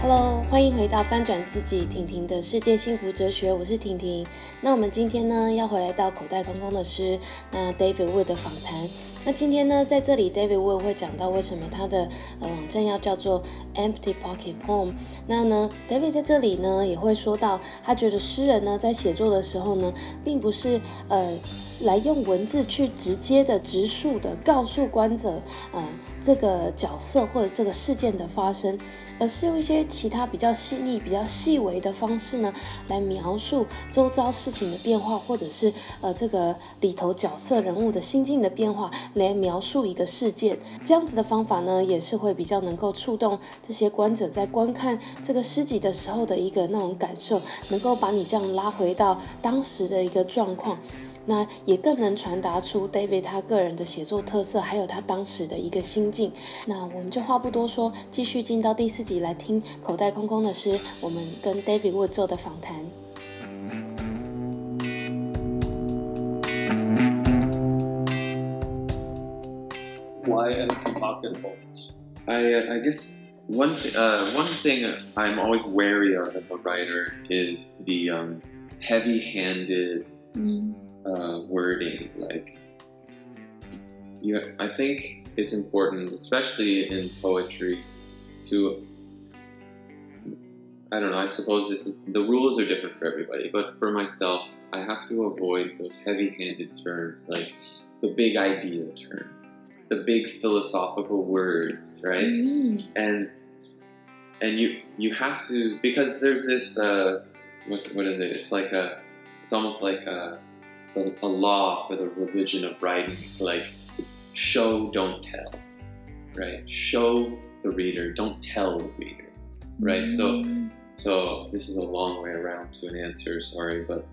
Hello， 歡迎回到翻轉自己婷婷的世界幸福哲學，我是婷婷。那我們今天呢要回來到口袋空空的詩，那 David Wood 的訪談。那今天呢在這裡 David Wood 會講到為什麼他的網站要叫做 Empty Pocket Poem。那呢 David 在這裡呢也會說到，他覺得詩人呢在寫作的時候呢，並不是來用文字去直接的直述的告訴觀者這個角色或者這個事件的發生，而是用一些其他比較細膩比較細微的方式呢來描述周遭事情的變化，或者是這個裡頭角色人物的心境的變化，來描述一個事件。這樣子的方法呢也是會比較能夠觸動這些觀者在觀看這個詩集的時候的一個那種感受，能夠把你這樣拉回到當時的一個狀況，那也更能傳達出 David 他個人的寫作特色，還有他當時的一個心境。那我們就話不多說，繼續進到第4集來聽口袋空空的詩，我們跟 David Wood 做的訪談。 Why empty pocket poems? I guess one thing I'm always wary of as a writer is the heavy-handed wording. Like, I think it's important, especially in poetry, to, I don't know, I suppose the rules are different for everybody, but for myself, I have to avoid those heavy-handed terms, like the big idea terms, the big philosophical words, right? And you have to, because there's this what is it? It's almost like a law for the religion of writing. It's like show, don't tell, right? Show the reader, don't tell the reader, right? So this is a long way around to an answer, sorry, but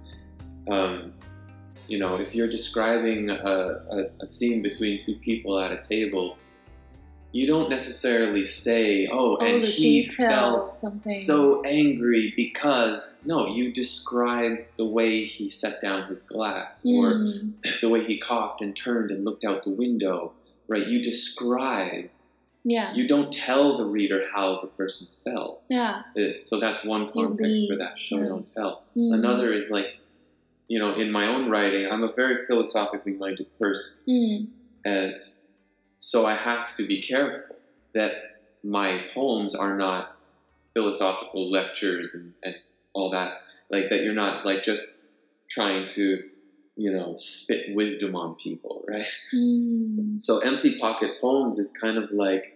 if you're describing a scene between two people at a table, you don't necessarily say, and he felt something so angry because, no, you describe the way he set down his glass, or the way he coughed and turned and looked out the window, right? You describe. Yeah. You don't tell the reader how the person felt. Yeah. So that's one context for that, show, don't tell. Another is like, in my own writing, I'm a very philosophically minded person. And so I have to be careful that my poems are not philosophical lectures and all that. Like, that you're not, like, just trying to, spit wisdom on people, right? So Empty Pocket Poems is kind of like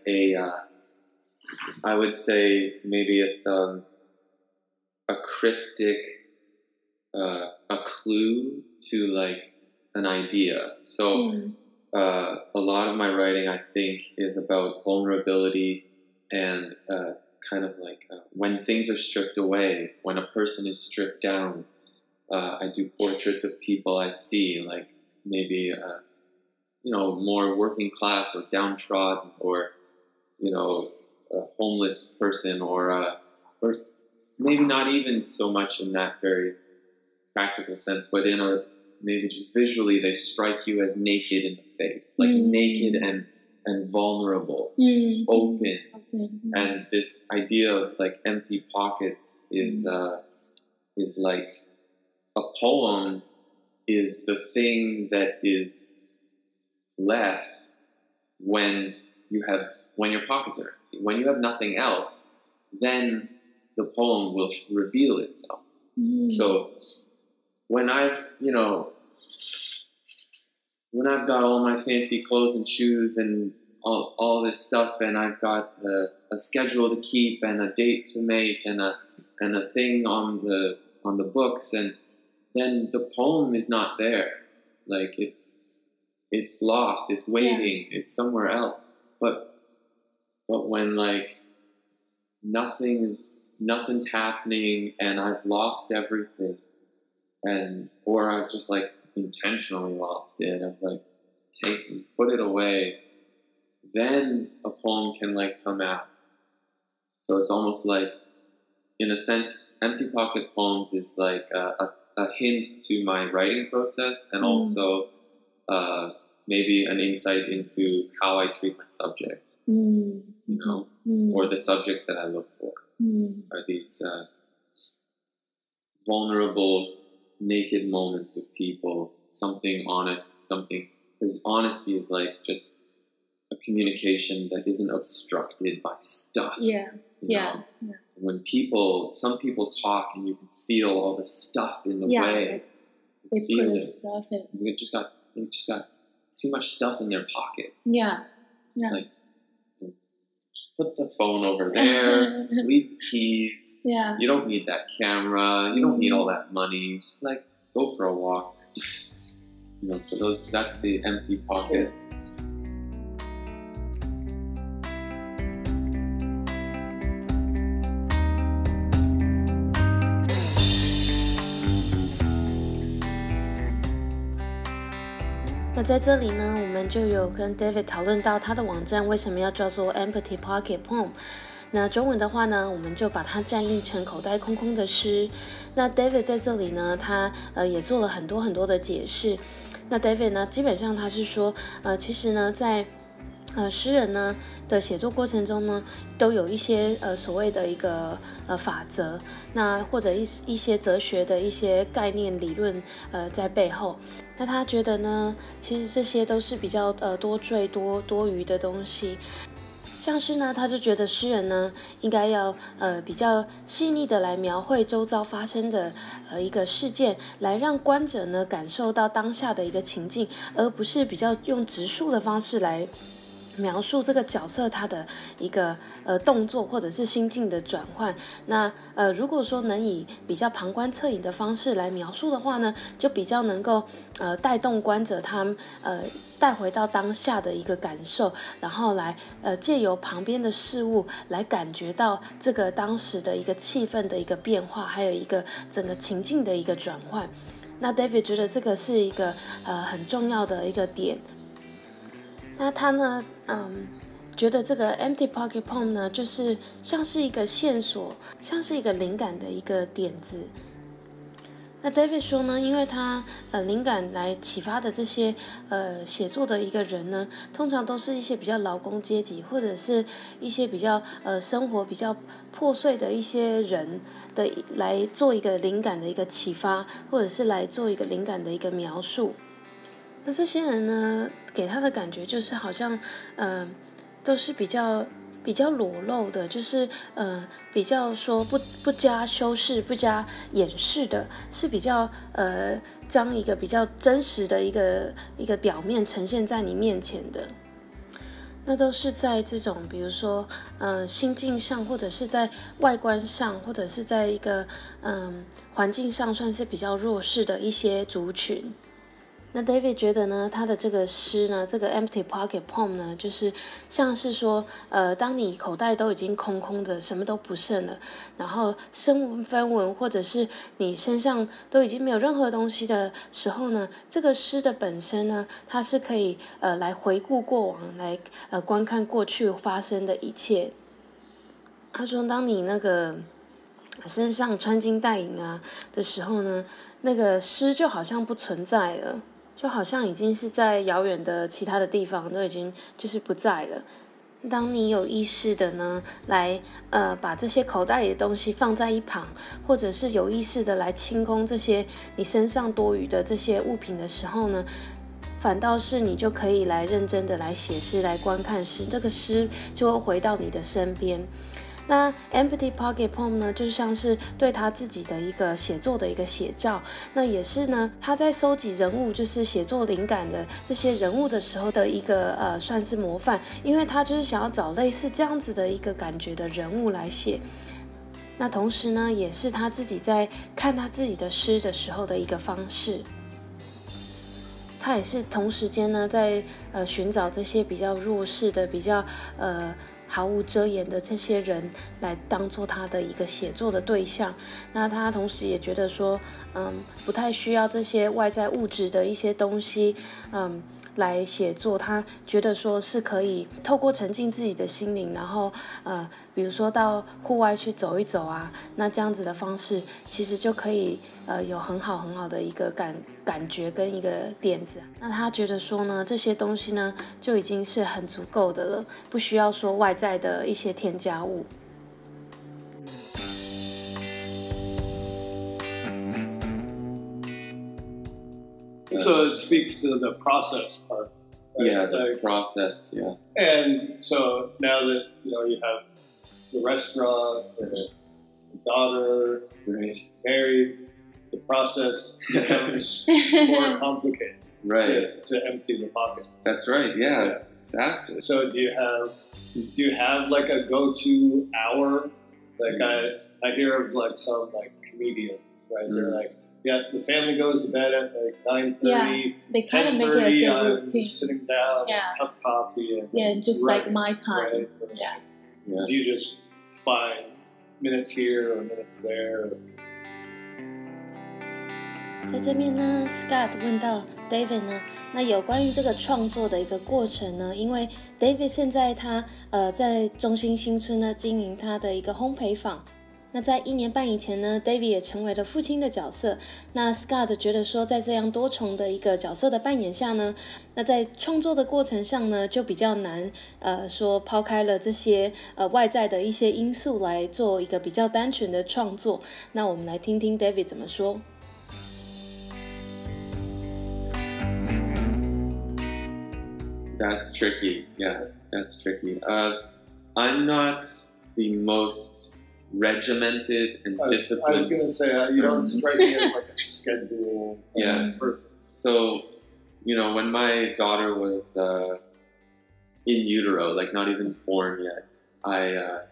I would say maybe it's a cryptic, a clue to, like, an idea. So a lot of my writing, I think, is about vulnerability and kind of like when things are stripped away, when a person is stripped down. I do portraits of people I see, like maybe, more working class or downtrodden, or, a homeless person, or maybe not even so much in that very practical sense, but maybe just visually they strike you as naked in the face, like naked and vulnerable, open. And this idea of like empty pockets is like a poem is the thing that is left when your pockets are empty. When you have nothing else, then the poem will reveal itself. So when I've got all my fancy clothes and shoes and all this stuff, and I've got a schedule to keep and a date to make and a thing on the books, and then the poem is not there. Like it's lost, it's waiting, it's somewhere else. But when like nothing's happening and I've lost everything, or I've just like intentionally lost it, I've like put it away, then a poem can like come out. So it's almost like, in a sense, Empty Pocket Poems is like a hint to my writing process, and also maybe an insight into how I treat my subject, or the subjects that I look for. are these vulnerable, naked moments with people, something honest, something, because honesty is like just a communication that isn't obstructed by stuff. Yeah. When some people talk and you can feel all the stuff in the way. They put the stuff in. They just got too much stuff in their pockets. It's like, put the phone over there, leave the keys. You don't need that camera. You don't need all that money. Just like go for a walk. So that's the empty pockets. 那在這裡呢，我們就有跟 David 討論到他的網站為什麼要叫做 Empty Pocket Poem。那中文的話呢，我們就把它翻譯成口袋空空的詩。那 David 在這裡呢，他也做了很多很多的解釋。那 David 呢，基本上他是說，其實呢，在詩人呢的寫作過程中呢，都有一些所謂的一個法則，那或者一些哲學的一些概念理論在背後。那他覺得呢，其實這些都是比較多贅多餘的東西。像是呢，他就覺得詩人呢應該要比較細膩的來描繪周遭發生的一個事件，來讓觀者呢感受到當下的一個情境，而不是比較用直述的方式來描述這個角色他的一個動作或者是心境的轉換。那如果說能以比較旁觀側影的方式來描述的話呢，就比較能夠帶動觀者他帶回到當下的一個感受，然後來借由旁邊的事物來感覺到這個當時的一個氣氛的一個變化，還有一個整個情境的一個轉換。那 David 覺得這個是一個很重要的一個點。那他呢，覺得這個 Empty Pocket Poem 呢，就是像是一個線索，像是一個靈感的一個點子。那 David 說呢，因為他靈感來啟發的這些寫作的一個人呢，通常都是一些比較勞工階級，或者是一些比較生活比較破碎的一些人的來做一個靈感的一個啟發，或者是來做一個靈感的一個描述。那這些人呢，給他的感覺就是好像都是比較裸露的，就是比較說不加修飾、不加掩飾的，是比較將一個比較真實的一個表面呈現在你面前的。那都是在這種比如說心境上，或者是在外觀上，或者是在一個環境上算是比較弱勢的一些族群。那 David 覺得呢，他的這個詩呢，這個 Empty Pocket Poem 呢，就是像是說，當你口袋都已經空空的，什麼都不剩了，然後身無分文，或者是你身上都已經沒有任何東西的時候呢，這個詩的本身呢，它是可以來回顧過往，來觀看過去發生的一切。他說，當你那個身上穿金戴銀啊的時候呢，那個詩就好像不存在了。就好像已經是在遙遠的其他的地方都已經就是不在了。當你有意識的呢，來把這些口袋裡的東西放在一旁，或者是有意識的來清空這些你身上多餘的這些物品的時候呢，反倒是你就可以來認真的來寫詩，來觀看詩，這個詩就會回到你的身邊。那 Empty Pocket Poem 呢，就像是對他自己的一個寫作的一個寫照，那也是呢，他在收集人物，就是寫作靈感的這些人物的時候的一個算是模範，因為他就是想要找類似這樣子的一個感覺的人物來寫。那同時呢，也是他自己在看他自己的詩的時候的一個方式。他也是同時間呢，在尋找這些比較弱勢的、比較毫無遮掩的這些人來當做他的一個寫作的對象。那他同時也覺得說，不太需要這些外在物質的一些東西，來寫作。他覺得說是可以透過沉浸自己的心靈，然後比如說到戶外去走一走啊，那這樣子的方式其實就可以有很好的一個感覺跟一個點子。那他覺得說呢，這些東西呢就已經是很足夠的了，不需要說外在的一些添加物。 So it speaks to the process part. Right? Yeah, the process. Yeah. And so now that you have the restaurant, the daughter, married, the process becomes more complicated. Right. To empty the pockets. That's right. Yeah. Exactly. So do you have like a go-to hour? Like I hear of like some like comedians, right? They're like, yeah, the family goes to bed at like 9:30. Yeah, they kind of make it as a routine. Sitting down, cup of coffee, and just like my time. Right? Yeah. You just find minutes here or minutes there. 在这邊呢 ，Scott 問到 David 呢，那有關於這個創作的一個過程呢，因為 David 現在他在中心新村呢經營他的一個烘焙坊。那在1年半以前呢 ，David 也成為了父親的角色。那 Scott 覺得說，在這樣多重的一個角色的扮演下呢，那在創作的過程上呢，就比較難說拋開了這些外在的一些因素來做一個比較單純的創作。那我們來聽聽 David 怎麼說。 That's tricky. Yeah, that's tricky. I'm not the most regimented and disciplined. I was going to say, you don't strike me as like a schedule person. So, when my daughter was in utero, like not even born yet, I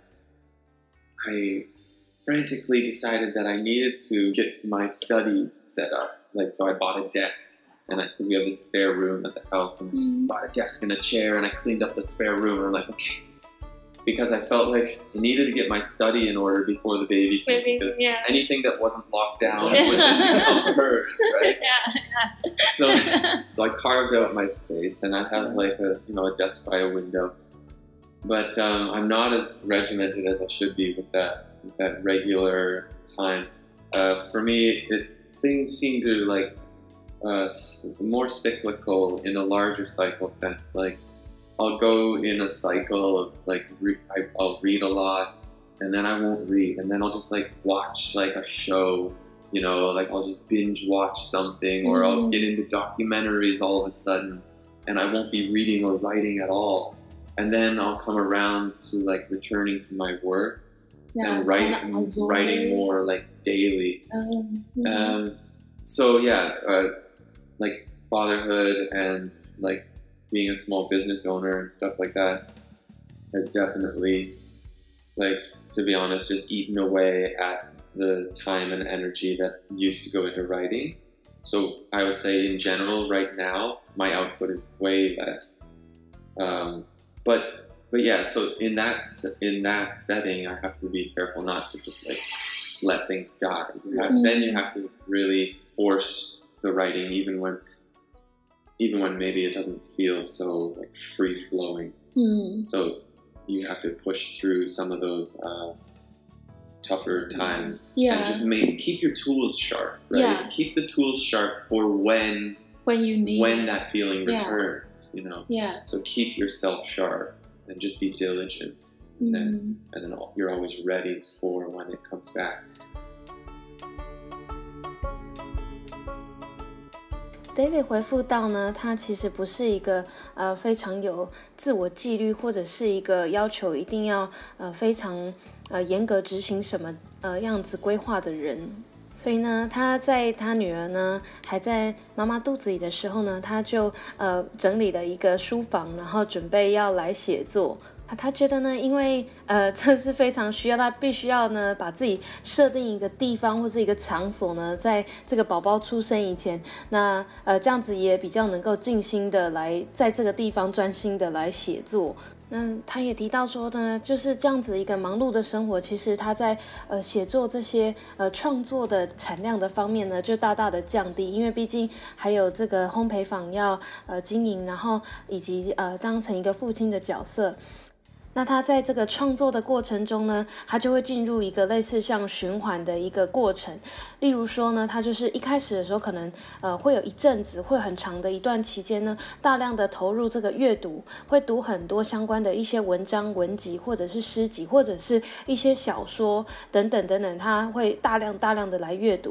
frantically decided that I needed to get my study set up. So I bought a desk. And because we have this spare room at the house, and bought a desk and a chair, and I cleaned up the spare room. And I'm like, okay, because I felt like I needed to get my study in order before the baby came, because anything that wasn't locked down would become hers, right? So I carved out my space, and I have like a desk by a window. But I'm not as regimented as I should be with that regular time. For me, things seem to like. More cyclical in a larger cycle sense. Like I'll go in a cycle of like I'll read a lot, and then I won't read, and then I'll just like watch like a show, like I'll just binge watch something, or I'll get into documentaries all of a sudden, and I won't be reading or writing at all. And then I'll come around to like returning to my work and writing more like daily. So like fatherhood and like being a small business owner and stuff like that has definitely, like, to be honest, just eaten away at the time and energy that used to go into writing. So I would say in general right now my output is way less. But yeah, so in that setting I have to be careful not to just like let things die. Then you have to really force the writing, even when maybe it doesn't feel so like free flowing. So you have to push through some of those tougher times. And just keep your tools sharp, right? Keep the tools sharp for when that feeling returns, So keep yourself sharp and just be diligent, and then you're always ready for when it comes back. David 回復到呢，他其實不是一個非常有自我紀律，或者是一個要求一定要非常嚴格執行什麼樣子規劃的人。所以呢，他在他女兒呢還在媽媽肚子裡的時候呢，他就整理了一個書房，然後準備要來寫作。他覺得呢，因為這是非常需要，他必須要呢把自己設定一個地方或是一個場所呢，在這個寶寶出生以前，那這樣子也比較能夠靜心的來在這個地方專心的來寫作。那他也提到說呢，就是這樣子一個忙碌的生活，其實他在寫作這些創作的產量的方面呢，就大大的降低，因為畢竟還有這個烘焙坊要經營，然後以及當成一個父親的角色。那他在這個創作的過程中呢，他就會進入一個類似像循環的一個過程。例如說呢，他就是一開始的時候可能會有一陣子，會很長的一段期間呢，大量的投入這個閱讀，會讀很多相關的一些文章、文集，或者是詩集，或者是一些小說等等等等，他會大量的來閱讀。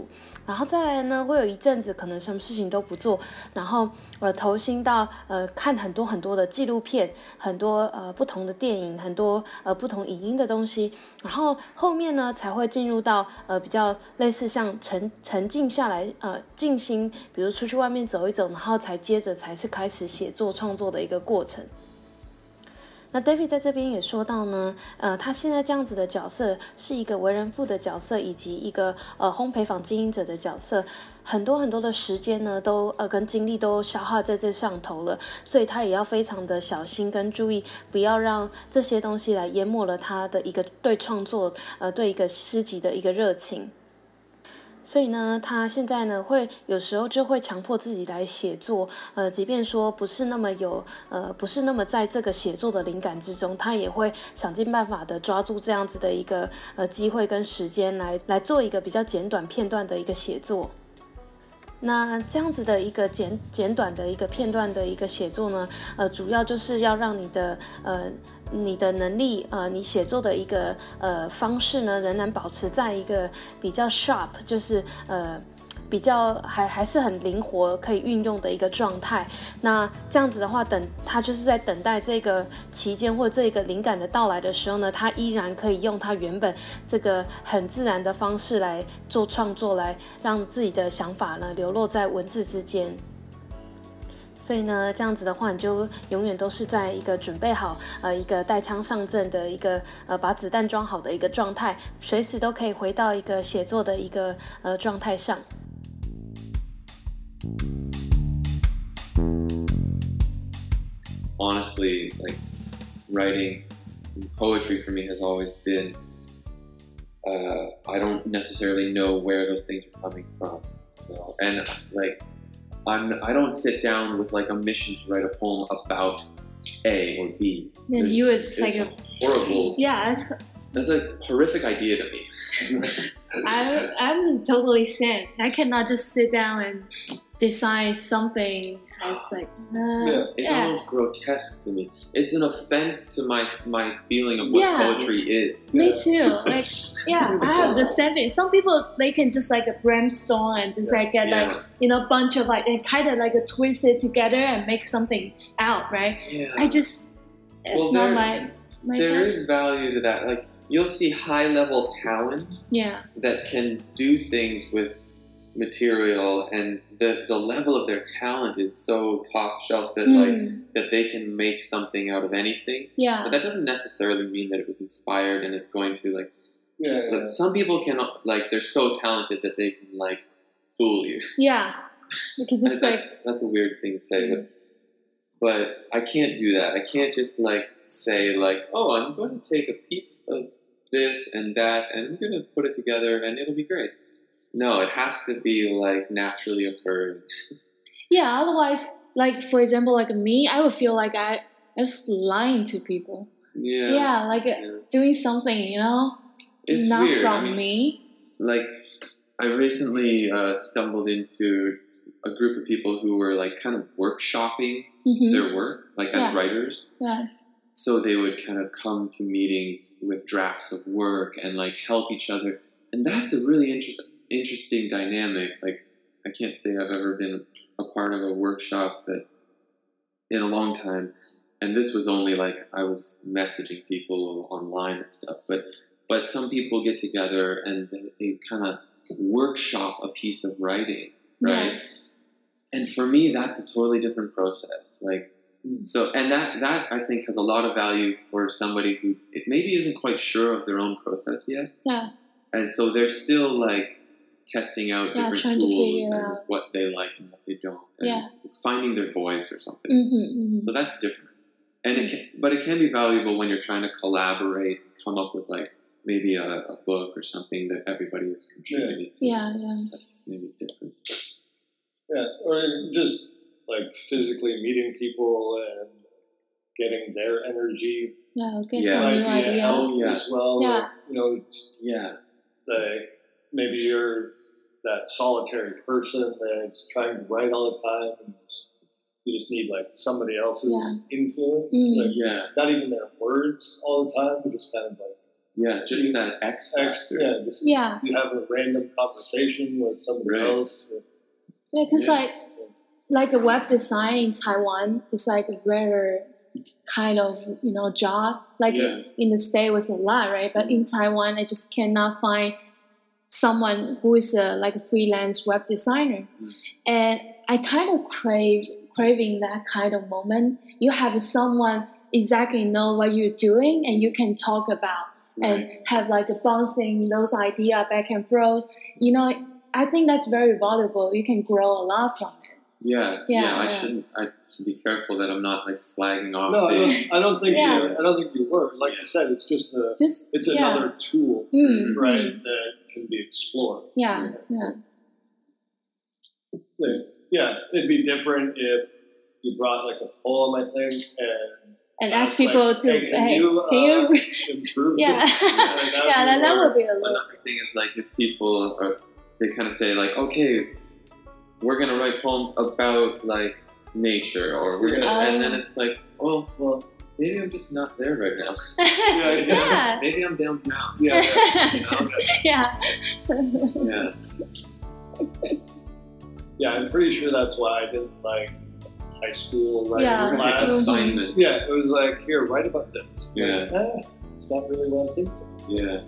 然後再來呢，會有一陣子可能什麼事情都不做，然後投心到看很多很多的紀錄片，很多不同的電影，很多不同影音的東西，然後後面呢才會進入到比較類似像沉靜下來靜心，比如出去外面走一走，然後接着才是開始寫作創作的一個過程。那 David 在這邊也說到呢，他現在這樣子的角色是一個為人父的角色，以及一個烘焙坊經營者的角色，很多很多的時間呢，都跟精力都消耗在這上頭了，所以他也要非常的小心跟注意，不要讓這些東西來淹沒了他的一個對創作對一個詩集的一個熱情。所以呢，他現在呢有時候就會強迫自己來寫作，即便說不是那麼在這個寫作的靈感之中，他也會想盡辦法的抓住這樣子的一個機會跟時間來做一個比較簡短片段的一個寫作。那這樣子的一個簡短的一個片段的一個寫作呢，主要就是要讓你的能力你寫作的一個方式呢，仍然保持在一個比較 sharp， 就是比較還是很靈活可以運用的一個狀態。那這樣子的話，他就是在等待這個期間或者這個靈感的到來的時候呢，他依然可以用他原本這個很自然的方式來做創作，來讓自己的想法呢流落在文字之間。所以呢，這樣子的話，你就永遠都是在一個準備好一個帶槍上陣的一個把子彈裝好的一個狀態，隨時都可以回到一個寫作的一個狀態上。 Honestly, like writing poetry for me has always been, I don't necessarily know where those things are coming from, you know? And like, I don't sit down with like a mission to write a poem about A or B. And you it's like a horrible. Yeah, that's a horrific idea to me. I'm totally same. I cannot just sit down and decide something as like it's almost grotesque to me. It's an offense to my feeling of what poetry is. Me too. Like I have the same thing. Some people they can just like a brainstorm and just like get like a bunch of like and kind of like a twist it together and make something out, right? I just not my there is value to that. Like you'll see high level talent that can do things with material, and the level of their talent is so top shelf that that they can make something out of anything. But that doesn't necessarily mean that it was inspired and it's going to like some people can like they're so talented that they can like fool you. Because it's that's a weird thing to say, but I can't do that. I can't just like say like, oh, I'm going to take a piece of this and that and I'm going to put it together and it'll be great. No, it has to be like naturally occurring. Otherwise, like for example, like me, I would feel like I was lying to people. Doing something, it's not weird. from me. Like I recently stumbled into a group of people who were like kind of workshopping their work, like as writers. So they would kind of come to meetings with drafts of work and like help each other, and that's a really interesting dynamic. Like I can't say I've ever been a part of a workshop that in a long time, and this was only like I was messaging people online and stuff, but some people get together and they kind of workshop a piece of writing, right? And for me that's a totally different process. Like so, and that I think has a lot of value for somebody who maybe isn't quite sure of their own process yet. And so they're still like testing out different tools and what they like and what they don't, and finding their voice or something. So that's different. And but it can be valuable when you're trying to collaborate, come up with like maybe a book or something that everybody is contributing to. That's maybe different. Or just like physically meeting people and getting their energy. Get some new idea. As well. Like maybe you're that solitary person that's trying to write all the time and you just need like somebody else's influence. Like, not even their words all the time, but just kind of like Yeah, just that X factor. You have a random conversation with somebody else. Yeah, because like a web design in Taiwan is like a rare kind of job. Like in the States was a lot, right? But in Taiwan, I just cannot find someone who is like a freelance web designer, and I kind of craving that kind of moment. You have someone exactly know what you're doing, and you can talk about and have like a bouncing those ideas back and forth. I think that's very valuable. You can grow a lot from it. I should be careful that I'm not like slagging off. No, I don't think you were. Like you said, it's just another tool, right? That can be explored. Yeah. It'd be different if you brought like a poem, I think, and ask people to, can you improve this? That would be a little. Another thing is like if people they kind of say like, okay, we're gonna write poems about like nature, or we're gonna, and then it's like, oh well, maybe I'm just not there right now. Maybe I'm downtown. Yeah, I'm pretty sure that's why I didn't like high school writing class. Assignment. Yeah, it was like, here, write about this. Yeah. Like, it's not really what I'm thinking. Yeah.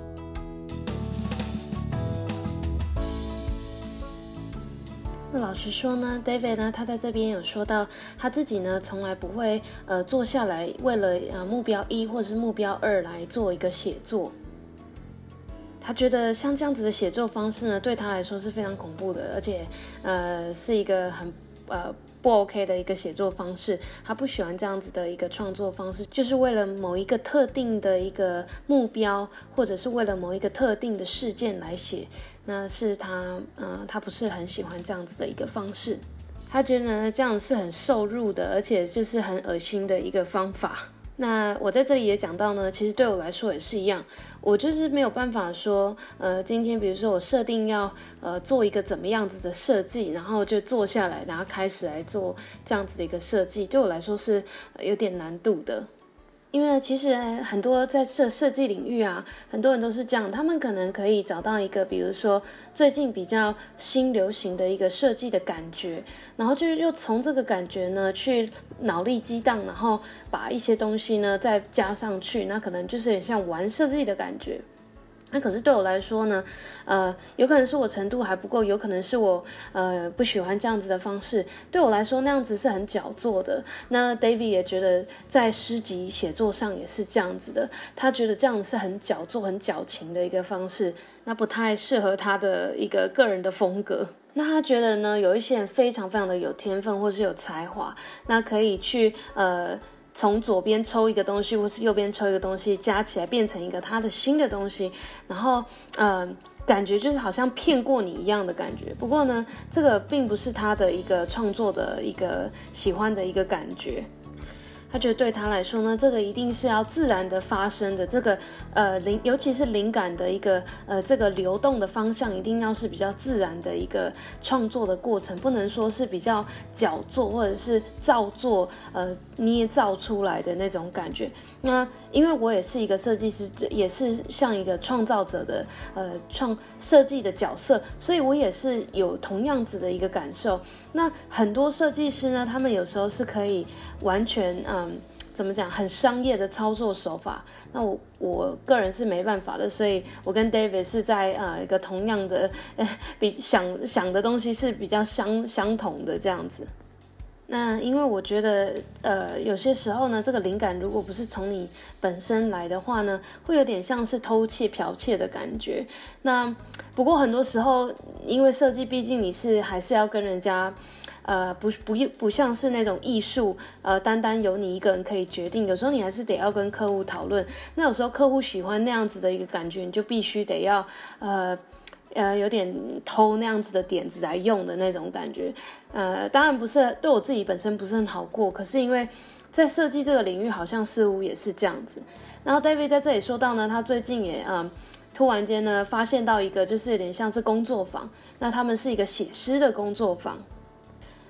那老實說呢 ，David 呢，他在這邊有說到他自己呢，從來不會坐下來為了目標1或者是目標2來做一個寫作。他覺得像這樣子的寫作方式呢，對他來說是非常恐怖的，而且是一個很不 OK 的一個寫作方式。他不喜歡這樣子的一個創作方式，就是為了某一個特定的一個目標，或者是為了某一個特定的事件來寫。那是他不是很喜歡這樣子的一個方式。他覺得呢，這樣是很受辱的，而且就是很噁心的一個方法。那我在這裡也講到呢，其實對我來說也是一樣，我就是沒有辦法說，今天比如說我設定要做一個怎麼樣子的設計，然後就坐下來，然後開始來做這樣子的一個設計，對我來說是有點難度的。因為其實很多在設計領域啊，很多人都是這樣，他們可能可以找到一個，比如說最近比較新流行的一個設計的感覺，然後就又從這個感覺呢去腦力激盪，然後把一些東西呢再加上去，那可能就是有點像玩設計的感覺。那可是對我來說呢，有可能是我程度還不夠，有可能是我不喜歡這樣子的方式。對我來說那樣子是很矯作的。那 David 也覺得在詩集寫作上也是這樣子的，他覺得這樣子是很矯作、很矯情的一個方式，那不太適合他的一個個人的風格。那他覺得呢，有一些人非常非常的有天分或是有才華，那可以去從左邊抽一個東西，或是右邊抽一個東西，加起來變成一個他的新的東西，然後感覺就是好像騙過你一樣的感覺。不過呢，這個並不是他的一個創作的一個喜歡的一個感覺。他覺得對他來說呢，這個一定是要自然的發生的，這個尤其是靈感的一個這個流動的方向，一定要是比較自然的一個創作的過程，不能說是比較矯作或者是造作捏造出來的那種感覺。那因為我也是一個設計師，也是像一個創造者的設計的角色，所以我也是有同樣子的一個感受。那很多設計師呢，他們有時候是可以完全怎麼講，很商業的操作手法。那我個人是沒辦法的，所以我跟 David 是在一個同樣的比想的東西是比較相同的這樣子。那因為我覺得有些時候呢，這個靈感如果不是從你本身來的話呢，會有點像是偷竊剽竊的感覺。那不過很多時候因為設計畢竟你還是要跟人家不像是那種藝術單單由你一個人可以決定，有時候你還是得要跟客戶討論。那有時候客戶喜歡那樣子的一個感覺，你就必須得要有點偷那樣子的點子來用的那種感覺。當然不是對我自己本身不是很好過，可是因為在設計這個領域好像似乎也是這樣子。然後 David 在這裡說到呢，他最近也突然間呢發現到一個就是有點像是工作坊，那他們是一個寫詩的工作坊。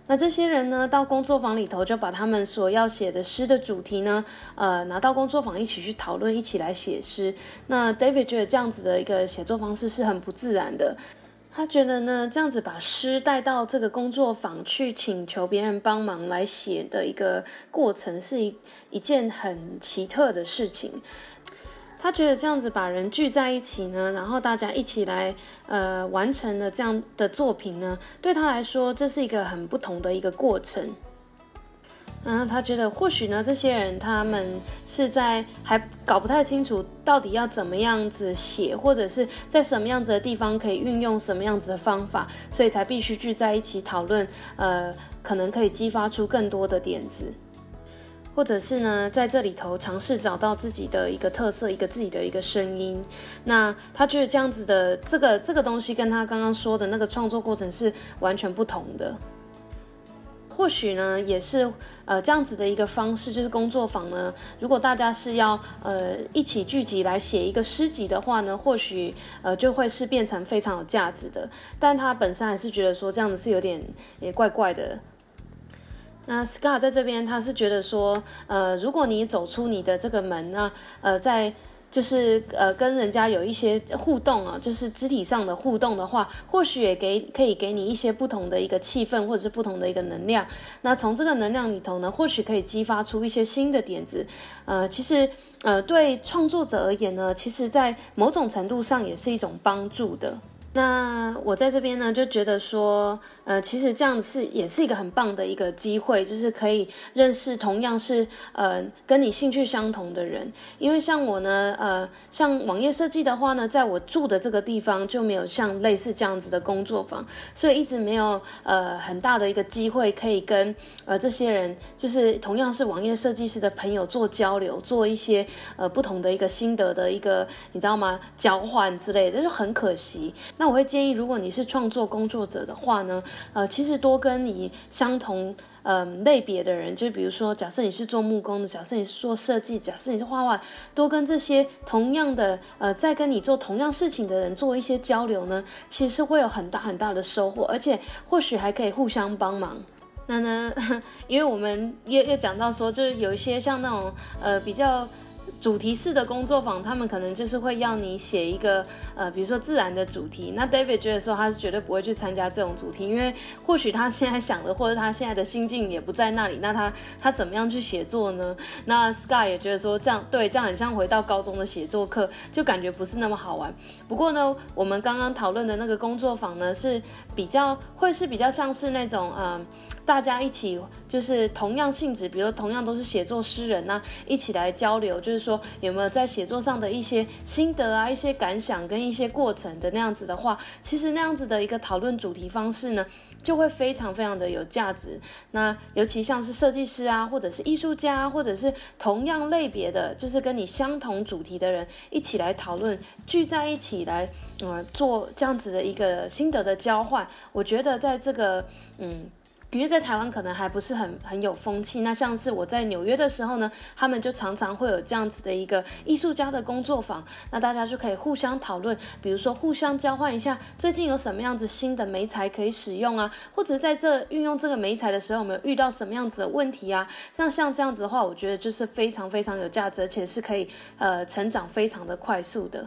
那這些人呢，到工作坊裡頭就把他們所要寫的詩的主題呢，拿到工作坊一起去討論，一起來寫詩。那 David 覺得這樣子的一個寫作方式是很不自然的。他覺得呢，這樣子把詩帶到這個工作坊去請求別人幫忙來寫的一個過程，是一件很奇特的事情。他覺得這樣子把人聚在一起呢，然後大家一起來完成了這樣的作品呢，對他來說這是一個很不同的一個過程。他覺得或許呢，這些人他們是在還搞不太清楚到底要怎麼樣子寫，或者是在什麼樣子的地方可以運用什麼樣子的方法，所以才必須聚在一起討論，可能可以激發出更多的點子。或者是呢，在這裡頭嘗試找到自己的一個特色，一個自己的一個聲音。那他覺得這樣子的這個東西跟他剛剛說的那個創作過程是完全不同的。或許呢，也是這樣子的一個方式，就是工作坊呢，如果大家是要一起聚集來寫一個詩集的話呢，或許就會是變成非常有價值的。但他本身還是覺得說這樣子是有點也怪怪的。那 Scott 在這邊，他是覺得說，如果你走出你的這個門呢，在就是跟人家有一些互動啊，就是肢體上的互動的話，或許也可以給你一些不同的一個氣氛，或者是不同的一個能量。那從這個能量裡頭呢，或許可以激發出一些新的點子。其實對創作者而言呢，其實在某種程度上也是一種幫助的。那我在這邊呢，就覺得說，其實這樣子也是一個很棒的一個機會，就是可以認識同樣是跟你興趣相同的人。因為像我呢，像網頁設計的話呢，在我住的這個地方就沒有像類似這樣子的工作坊，所以一直沒有很大的一個機會可以跟這些人，就是同樣是網頁設計師的朋友做交流，做一些不同的一個心得的一個你知道嗎，交換之類的，就很可惜。那我會建議，如果你是創作工作者的話呢，其實多跟你相同類別的人，就比如說，假設你是做木工的，假設你是做設計，假設你是畫畫，多跟這些同樣的在跟你做同樣事情的人做一些交流呢，其實會有很大很大的收穫，而且或許還可以互相幫忙。那呢，因為我們也講到說，就是有一些像那種比較主題式的工作坊，他們可能就是會要你寫一個比如說自然的主題。那 David 覺得說他是絕對不會去參加這種主題，因為或許他現在想的或者他現在的心境也不在那裡，那他怎麼樣去寫作呢？那 Scott 也覺得說這樣很像回到高中的寫作課，就感覺不是那麼好玩。不過呢，我們剛剛討論的那個工作坊呢，是比較像是那種大家一起就是同樣性質，比如同樣都是寫作詩人啊，一起來交流，就是說有沒有在寫作上的一些心得啊、一些感想跟一些過程的那樣子的話，其實那樣子的一個討論主題方式呢，就會非常非常的有價值。那尤其像是設計師啊，或者是藝術家，或者是同樣類別的，就是跟你相同主題的人一起來討論，聚在一起來做這樣子的一個心得的交換，我覺得在這個因為在台灣可能還不是很有風氣，那像是我在紐約的時候呢，他們就常常會有這樣子的一個藝術家的工作坊，那大家就可以互相討論，比如說互相交換一下最近有什麼樣子新的媒材可以使用啊，或者在這運用這個媒材的時候，我們有遇到什麼樣子的問題啊，像這樣子的話，我覺得就是非常非常有價值，而且是可以成長非常的快速的。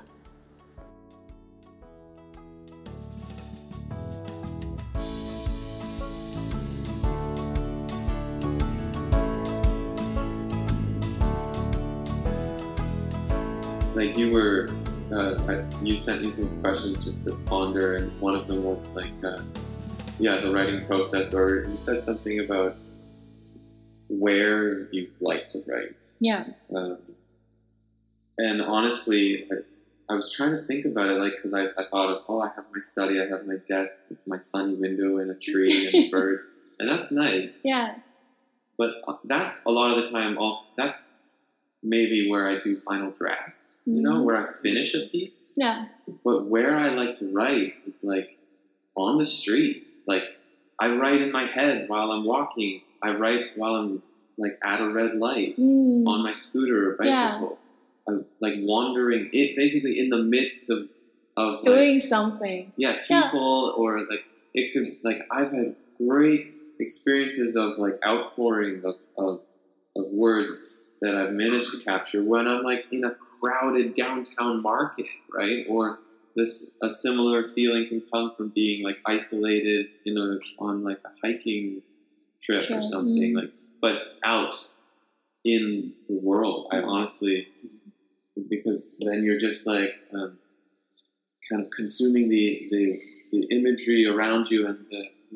Like you were, you sent me some questions just to ponder, and one of them was like, the writing process, or you said something about where you like to write. Yeah. And honestly, I was trying to think about it, like, because I thought of, I have my study, I have my desk, my sunny window, and a tree and birds, and that's nice. Yeah. But that's a lot of the time also, that's maybe where I do final drafts, you know, where I finish a piece. Yeah. But where I like to write is like on the street. Like I write in my head while I'm walking. I write while I'm like at a red light on my scooter or bicycle. Yeah. I'm like wandering it basically in the midst of doing like, something. Yeah, people or like it could like I've had great experiences of like outpouring of words that I've managed to capture when I'm like in a crowded downtown market, right? Or a similar feeling can come from being like isolated, on like a hiking trip or something, like, but out in the world. I honestly, because then you're just like kind of consuming the imagery around you and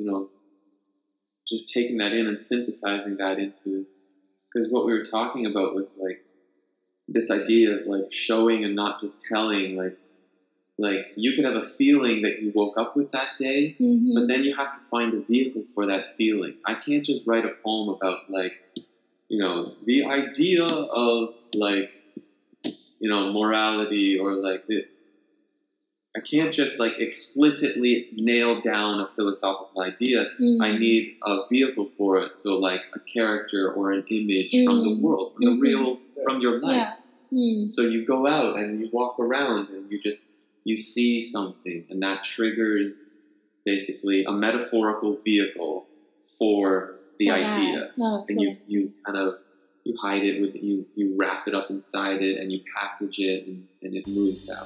just taking that in and synthesizing that into, because what we were talking about with like this idea of like showing and not just telling, like you could have a feeling that you woke up with that day, but then you have to find a vehicle for that feeling. I can't just write a poem about like, the idea of like, morality or like I can't just like explicitly nail down a philosophical idea. I need a vehicle for it. So like a character or an image from the world, from the real, from your life. So you go out and you walk around and you see something, and that triggers basically a metaphorical vehicle for the idea. And you kind of, you hide it with, you wrap it up inside it and you package it and it moves out.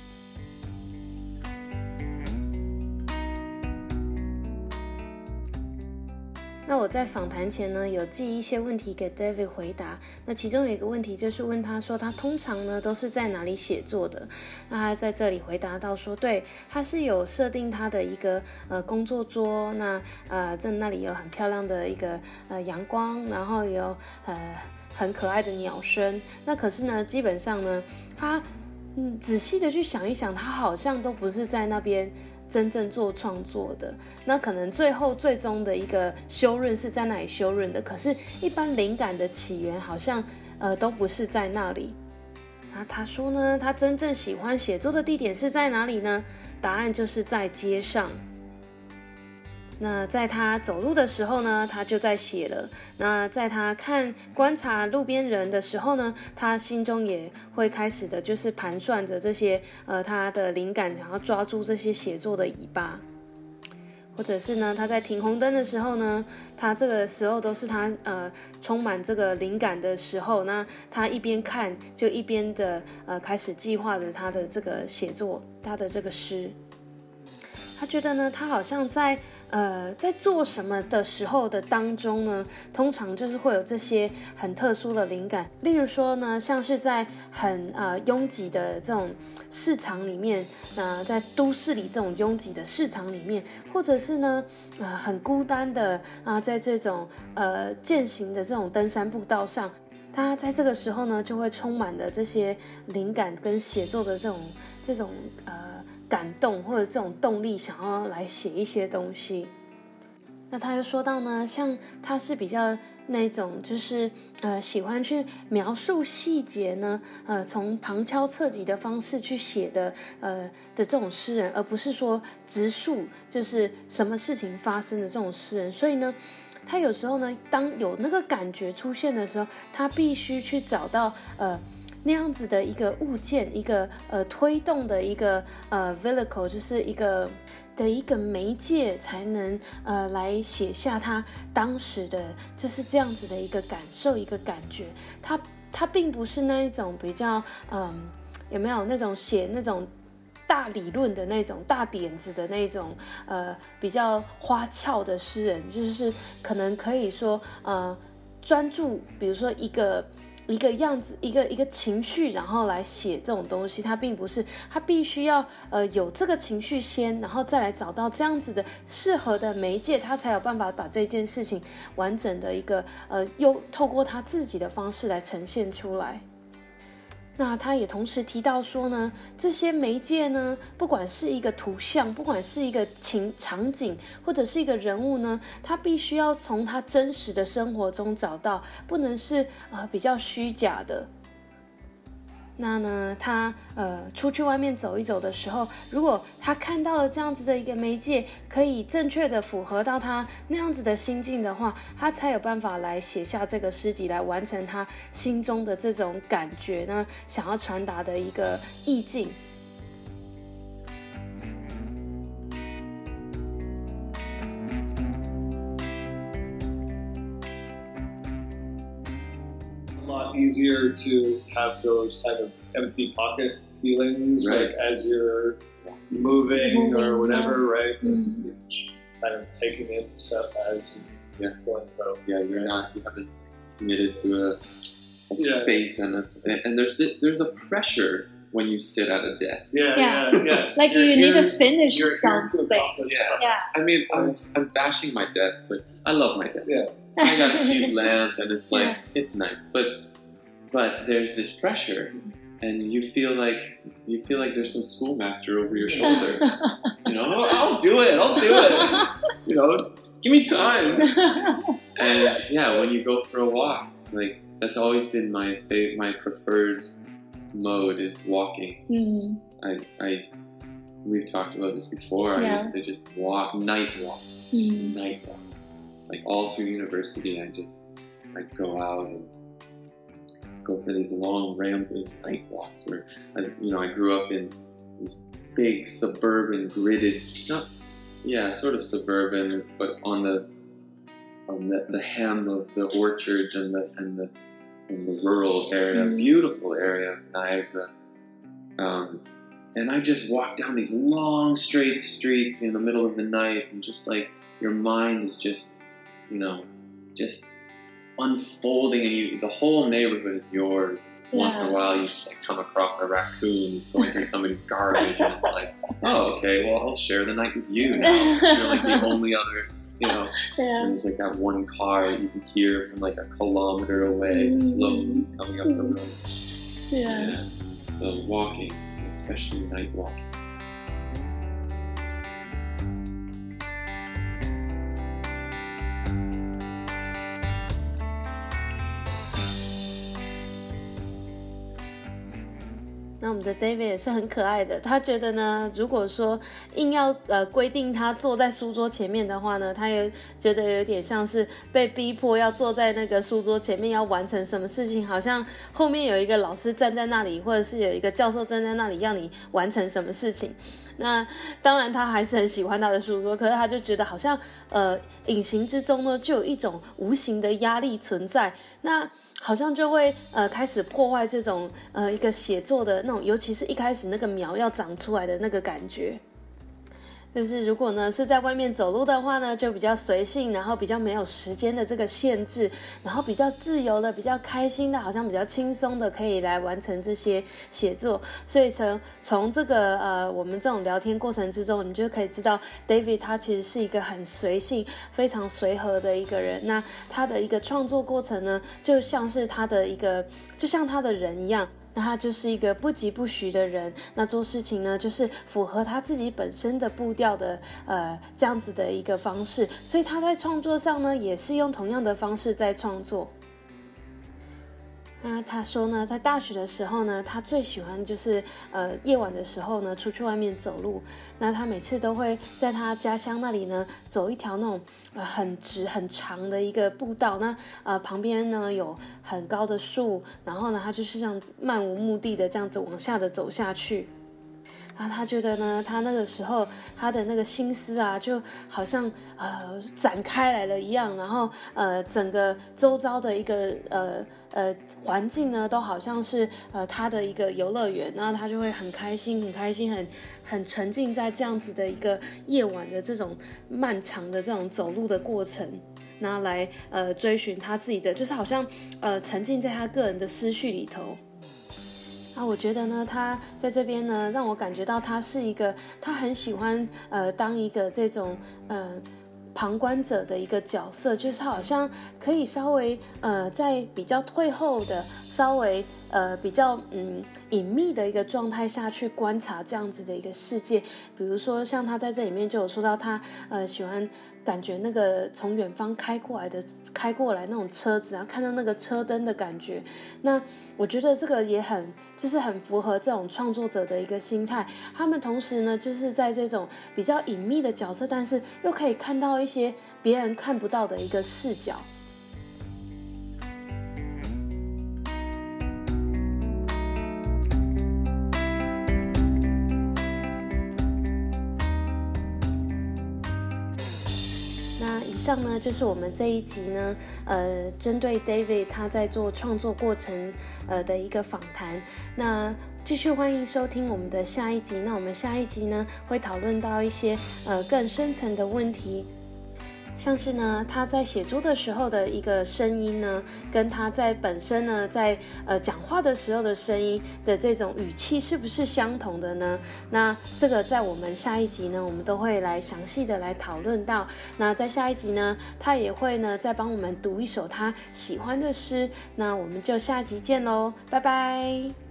那我在訪談前呢，有寄一些問題給 David 回答。那其中有一個問題就是問他說，他通常呢都是在哪裡寫作的？那他在這裡回答到說，對，他是有設定他的一個工作桌，那在那裡有很漂亮的一個陽光，然後有很可愛的鳥聲。那可是呢，基本上呢，他仔細的去想一想，他好像都不是在那邊真正做創作的，那可能最終的一個修潤是在那裡修潤的，可是一般靈感的起源好像都不是在那裡。那他說呢，他真正喜歡寫作的地點是在哪裡呢？答案就是在街上。那在他走路的時候呢，他就在寫了。那在他觀察路邊人的時候呢，他心中也會開始的就是盤算着這些他的靈感，想要抓住這些寫作的尾巴。或者是呢，他在停紅燈的時候呢，他這個時候都是他充滿這個靈感的時候，那他一邊看就一邊的開始計劃着他的這個寫作，他的這個詩。他覺得呢，他好像在做什麼的時候的當中呢，通常就是會有這些很特殊的靈感。例如說呢，像是在很擁擠的這種市場裡面，在都市裡這種擁擠的市場裡面，或者是呢很孤單的在這種健行的這種登山步道上，他在這個時候呢，就會充滿了這些靈感跟寫作的這種感動或者這種動力，想要來寫一些東西。那他又說到呢，像他是比較那種就是喜歡去描述細節呢，從旁敲側擊的方式去寫的這種詩人，而不是說直述就是什麼事情發生的這種詩人。所以呢，他有時候呢，當有那個感覺出現的時候，他必須去找到那樣子的一個物件，一個推動的一個vehicle， 就是一個媒介，才能來寫下他當時的就是這樣子的一個感受，一個感覺。他並不是那一種比較有沒有那種寫那種大理論的那種大點子的那種比較花俏的詩人，就是可能可以說專注，比如說一個樣子，一個情緒，然後來寫這種東西。他並不是，他必須要有這個情緒先，然後再來找到這樣子的適合的媒介，他才有辦法把這件事情完整的一個又透過他自己的方式來呈現出來。那他也同時提到說呢，這些媒介呢，不管是一個圖像，不管是一個場景，或者是一個人物呢，他必須要從他真實的生活中找到，不能是比較虛假的。那呢，他出去外面走一走的時候，如果他看到了這樣子的一個媒介，可以正確的符合到他那樣子的心境的話，他才有辦法來寫下這個詩集，來完成他心中的這種感覺呢，想要傳達的一個意境。 easier to have those kind of empty pocket feelings, Right. like as you're moving or whatever, right? Mm-hmm. Kind of taking in stuff as you're going through. Yeah, you haven't committed to a space, and there's a pressure when you sit at a desk. Yeah. Like you need to finish something. Yeah. I mean, I'm bashing my desk, but I love my desk. Yeah. I got a cute lamp, and it's like it's nice, but there's this pressure, and you feel like there's some schoolmaster over your shoulder. You know, I'll do it. You know, give me time. And yeah, when you go for a walk, like that's always been my preferred mode is walking. Mm-hmm. We've talked about this before. I used to just night walk. Like all through university, I'd go out and go for these long rambling night walks where I grew up in these big suburban gridded, sort of suburban, but on the hem of the orchards and the rural area, beautiful area of Niagara. And I just walk down these long straight streets in the middle of the night, and just like your mind is just unfolding, and the whole neighborhood is yours. Once in a while, you just like come across a raccoon going through somebody's garbage, and it's like, oh, okay, well, I'll share the night with you now. You're like the only other, and there's like that one car that you can hear from like a kilometer away, slowly coming up the road. Yeah. So walking, especially night walking. 那我们的 David 也是很可爱的，他觉得呢，如果说硬要規定他坐在書桌前面的話呢，他也覺得有點像是被逼迫要坐在那個書桌前面要完成什麼事情，好像後面有一個老師站在那裡，或者是有一個教授站在那裡要你完成什麼事情。那當然他還是很喜歡他的書桌，可是他就覺得好像隱形之中呢就有一種無形的壓力存在，那好像就會開始破壞這種一個寫作的那種，尤其是一開始那個苗要長出來的那個感覺。但是如果呢是在外面走路的話呢，就比較隨性，然後比較沒有時間的這個限制，然後比較自由的，比較開心的，好像比較輕鬆的可以來完成這些寫作。所以從這個我們這種聊天過程之中，你就可以知道 David 他其實是一個很隨性非常隨和的一個人。那他的一個創作過程呢，就像是他的一個就像他的人一樣，那他就是一個不疾不徐的人，那做事情呢就是符合他自己本身的步調的這樣子的一個方式，所以他在創作上呢也是用同樣的方式在創作。那他說呢，在大學的時候呢，他最喜歡就是夜晚的時候呢出去外面走路。那他每次都會在他家鄉那裡呢走一條那種很直很長的一個步道。那旁邊呢有很高的樹，然後呢他就是這樣子漫無目的的這樣子往下的走下去。然後他覺得呢，他那個時候他的那個心思啊，就好像展開來了一樣，然後整個周遭的一個環境呢，都好像是他的一個遊樂園，然後他就會很開心，很沉浸在這樣子的一個夜晚的這種漫長的這種走路的過程，然後來追尋他自己的，就是好像沉浸在他個人的思緒裡頭。我覺得呢，他在這邊呢，讓我感覺到他是一個，他很喜歡當一個這種旁觀者的一個角色，就是好像可以稍微在比較退後的，稍微比較隱秘的一個狀態下去觀察這樣子的一個世界。比如說像他在這裡面就有說到他喜歡感覺那個從遠方開過來那種車子，然後看到那個車燈的感覺。那我覺得這個也就是很符合這種創作者的一個心態。他們同時呢，就是在這種比較隱秘的角色，但是又可以看到一些別人看不到的一個視角。 那以上呢就是我們這一集呢，針對 David 他在做創作過程的一個訪談。那繼續歡迎收聽我們的下一集。那我們下一集呢會討論到一些更深層的問題。像是呢，他在寫作的時候的一個聲音呢，跟他在本身呢，在講話的時候的聲音的這種語氣是不是相同的呢？那這個在我們下一集呢，我們都會來詳細的來討論到。那在下一集呢，他也會呢再幫我們讀一首他喜歡的詩。那我們就下集見嘍，拜拜。